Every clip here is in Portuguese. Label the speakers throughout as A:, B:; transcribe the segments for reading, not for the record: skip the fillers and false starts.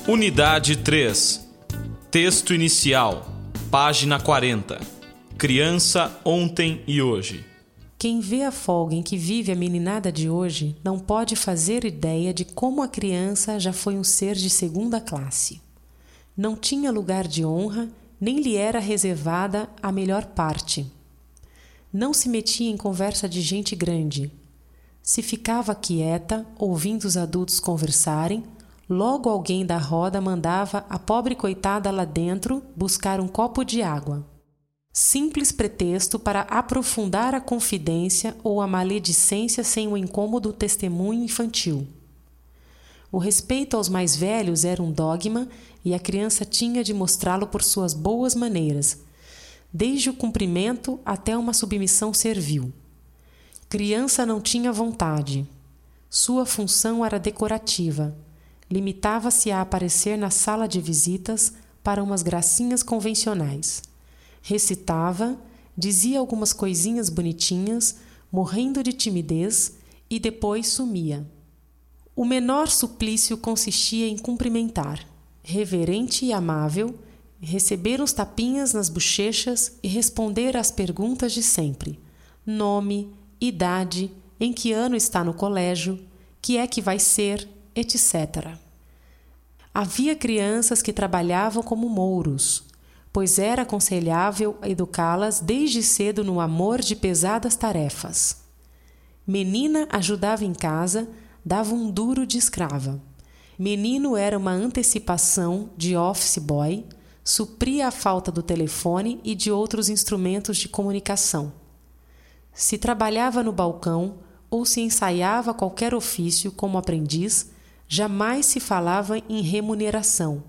A: Unidade 3. Texto inicial. Página 40. Criança ontem e hoje.
B: Quem vê a folga em que vive a meninada de hoje não pode fazer ideia de como a criança já foi um ser de segunda classe. Não tinha lugar de honra, nem lhe era reservada a melhor parte. Não se metia em conversa de gente grande. Se ficava quieta, ouvindo os adultos conversarem, logo alguém da roda mandava a pobre coitada lá dentro buscar um copo de água. Simples pretexto para aprofundar a confidência ou a maledicência sem o incômodo testemunho infantil. O respeito aos mais velhos era um dogma e a criança tinha de mostrá-lo por suas boas maneiras, desde o cumprimento até uma submissão servil. Criança não tinha vontade. Sua função era decorativa. Limitava-se a aparecer na sala de visitas para umas gracinhas convencionais. Recitava, dizia algumas coisinhas bonitinhas, morrendo de timidez, e depois sumia. O menor suplício consistia em cumprimentar, reverente e amável, receber uns tapinhas nas bochechas e responder às perguntas de sempre: nome, idade, em que ano está no colégio, que é que vai ser, etc. Havia crianças que trabalhavam como mouros, pois era aconselhável educá-las desde cedo no amor de pesadas tarefas. Menina ajudava em casa, dava um duro de escrava. Menino era uma antecipação de office boy, supria a falta do telefone e de outros instrumentos de comunicação. Se trabalhava no balcão ou se ensaiava qualquer ofício como aprendiz, jamais se falava em remuneração.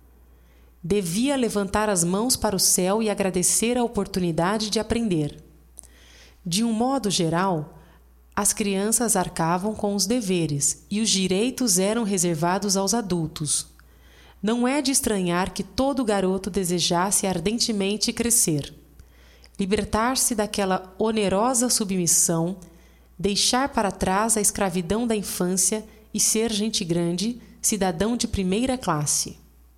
B: Devia levantar as mãos para o céu e agradecer a oportunidade de aprender. De um modo geral, as crianças arcavam com os deveres e os direitos eram reservados aos adultos. Não é de estranhar que todo garoto desejasse ardentemente crescer, libertar-se daquela onerosa submissão, deixar para trás a escravidão da infância e ser gente grande, cidadão de primeira classe.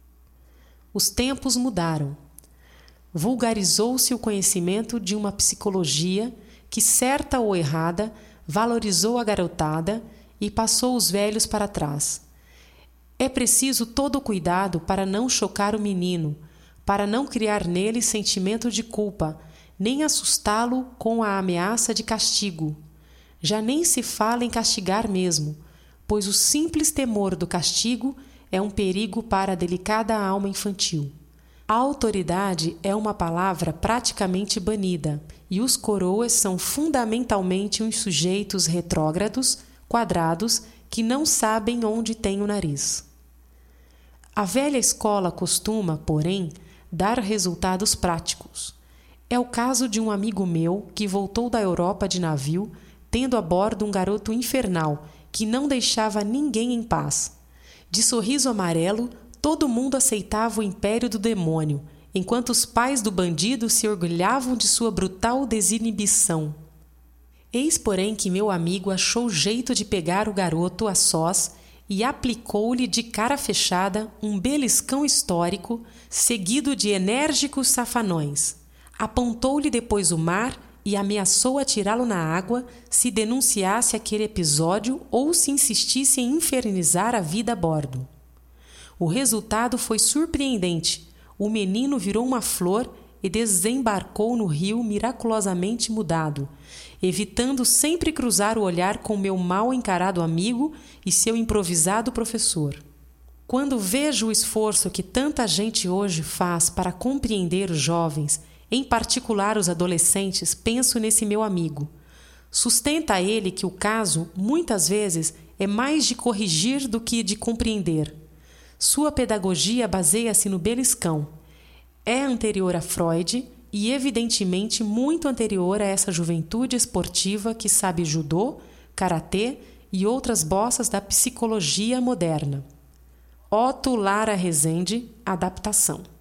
B: Os tempos mudaram. Vulgarizou-se o conhecimento de uma psicologia que, certa ou errada, valorizou a garotada e passou os velhos para trás. É preciso todo cuidado para não chocar o menino, para não criar nele sentimento de culpa, nem assustá-lo com a ameaça de castigo. Já nem se fala em castigar mesmo, pois o simples temor do castigo é um perigo para a delicada alma infantil. A autoridade é uma palavra praticamente banida, e os coroas são fundamentalmente uns sujeitos retrógrados, quadrados, que não sabem onde tem o nariz. A velha escola costuma, porém, dar resultados práticos. É o caso de um amigo meu que voltou da Europa de navio, tendo a bordo um garoto infernal, que não deixava ninguém em paz. De sorriso amarelo, todo mundo aceitava o império do demônio, enquanto os pais do bandido se orgulhavam de sua brutal desinibição. Eis, porém, que meu amigo achou jeito de pegar o garoto a sós e aplicou-lhe de cara fechada um beliscão histórico, seguido de enérgicos safanões. Apontou-lhe depois o mar e ameaçou atirá-lo na água se denunciasse aquele episódio ou se insistisse em infernizar a vida a bordo. O resultado foi surpreendente. O menino virou uma flor e desembarcou no rio miraculosamente mudado, evitando sempre cruzar o olhar com meu mal encarado amigo e seu improvisado professor. Quando vejo o esforço que tanta gente hoje faz para compreender os jovens, em particular os adolescentes, penso nesse meu amigo. Sustenta ele que o caso, muitas vezes, é mais de corrigir do que de compreender. Sua pedagogia baseia-se no beliscão. É anterior a Freud e, evidentemente, muito anterior a essa juventude esportiva que sabe judô, karatê e outras bossas da psicologia moderna. Otto Lara Rezende, adaptação.